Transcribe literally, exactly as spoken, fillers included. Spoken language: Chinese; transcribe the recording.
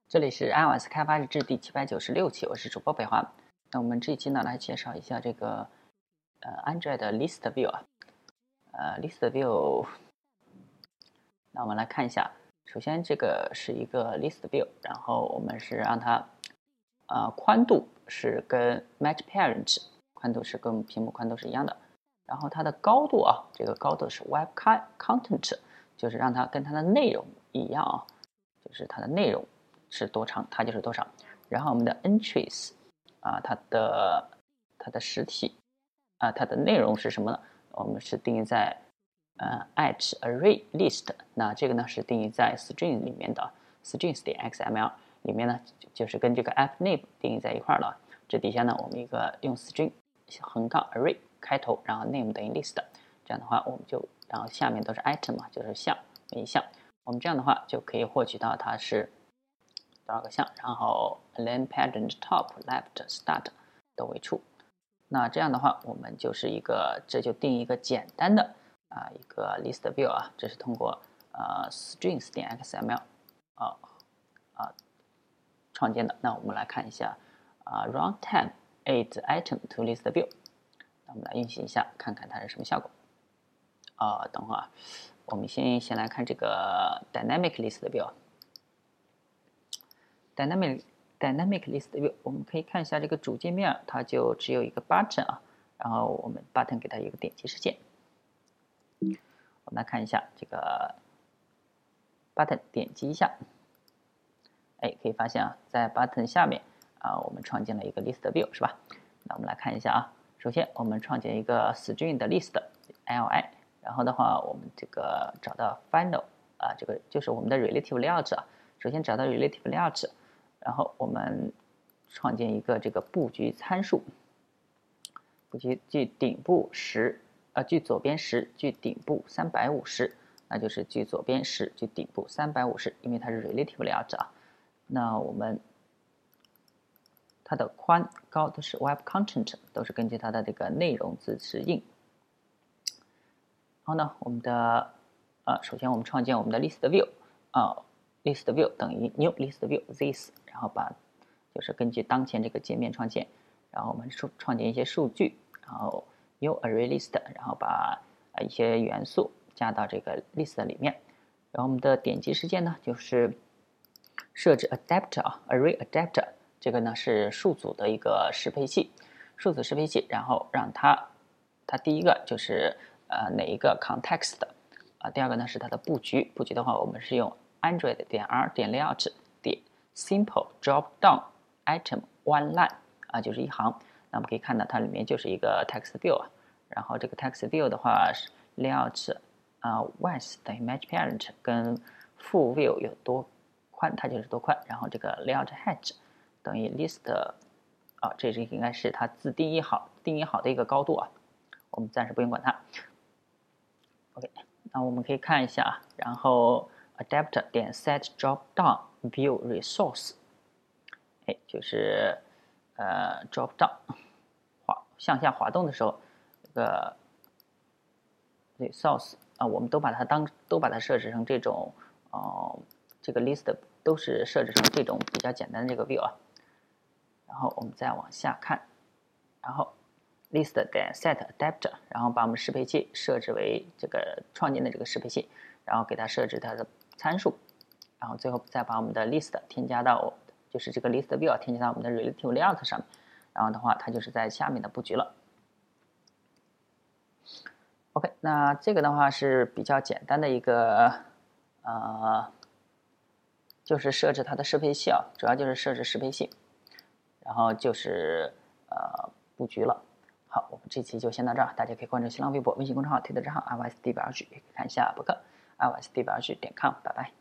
这里是 iOS 开发日志第七百九十六期，我是主播北华。那我们这一期呢，来介绍一下这个呃 Android 的 List View 啊，呃 List View。那我们来看一下，首先这个是一个 List View， 然后我们是让它呃宽度是跟 Match Parent 宽度是跟屏幕宽度是一样的，然后它的高度啊，这个高度是 Web Content， 就是让它跟它的内容一样啊，就是它的内容是多长，它就是多长。然后我们的 entries 啊，它的它的实体啊，它的内容是什么呢？我们是定义在呃 at array list， 那这个呢是定义在 string 里面的 strings 点 xml 里面呢，就是跟这个 app name 定义在一块了。这底下呢，我们一个用 string 横杠 array 开头，然后 name 等于 list， 这样的话我们就然后下面都是 item 嘛，就是项每一项。我们这样的话就可以获取到它是多少个项，然后 len parent top left start 都为 true。那这样的话，我们就是一个这就定一个简单的啊一个 list view 啊，这是通过呃 strings 点 xml 啊啊创建的。那我们来看一下啊 runtime add item to list view， 那我们来运行一下，看看它是什么效果。啊，等会儿啊。我们先先来看这个 dynamic list view。dynamic dynamic list view， 我们可以看一下这个主界面，它就只有一个 button 啊，然后我们 button 给它一个点击事件。我们来看一下这个 button 点击一下，哎，可以发现啊，在 button 下面啊，我们创建了一个 list view 是吧？那我们来看一下啊，首先我们创建一个 string 的 list li。然后的话，我们这个找到 final 啊，这个就是我们的 relative layout 啊。首先找到 relative layout， 然后我们创建一个这个布局参数，布局距顶部十，呃，距左边十，距顶部三百五十，那就是距左边十，距顶部三百五十，因为它是 relative layout 啊。那我们它的宽高都是 web content， 都是根据它的这个内容自适应。然后呢，我们的呃，首先我们创建我们的 list view 啊、呃、，list view 等于 new list view this， 然后把就是根据当前这个界面创建，然后我们创创建一些数据，然后 new array list， 然后把呃一些元素加到这个 list 里面，然后我们的点击事件呢，就是设置 adapter 啊 array adapter， 这个呢是数组的一个适配器，数组适配器，然后让它它第一个就是呃，哪一个 context 的啊？第二个呢是它的布局，布局的话，我们是用 Android 点 r 点 layout 点 simple drop down item one line 啊，就是一行。那我们可以看到它里面就是一个 text view 啊，然后这个 text view 的话是 layout 啊 width 等于 match parent 跟 full view 有多宽，它就是多宽。然后这个 layout height 等于 list 啊，这是应该是它自定义好定义好的一个高度啊，我们暂时不用管它。OK， 那我们可以看一下啊，然后 adapter 点 set drop down view resource， 哎，就是呃 drop down 滑向下滑动的时候，这个 resource 啊，我们都把它当都把它设置成这种哦、呃，这个 list 都是设置成这种比较简单的这个 view 啊。然后我们再往下看，然后。list 点 set adapter， 然后把我们适配器设置为这个创建的这个适配器，然后给它设置它的参数，然后最后再把我们的 list 添加到就是这个 list view 添加到我们的 relative layout 上面，然后的话它就是在下面的布局了。OK， 那这个的话是比较简单的一个呃，就是设置它的适配器啊，主要就是设置适配器，然后就是呃布局了。好，我们这期就先到这儿，大家可以关注新浪微博、微信公众号、推特账号 iOS 地表二句，也可以看一下博客 iOS 地表二句点 com， 拜拜。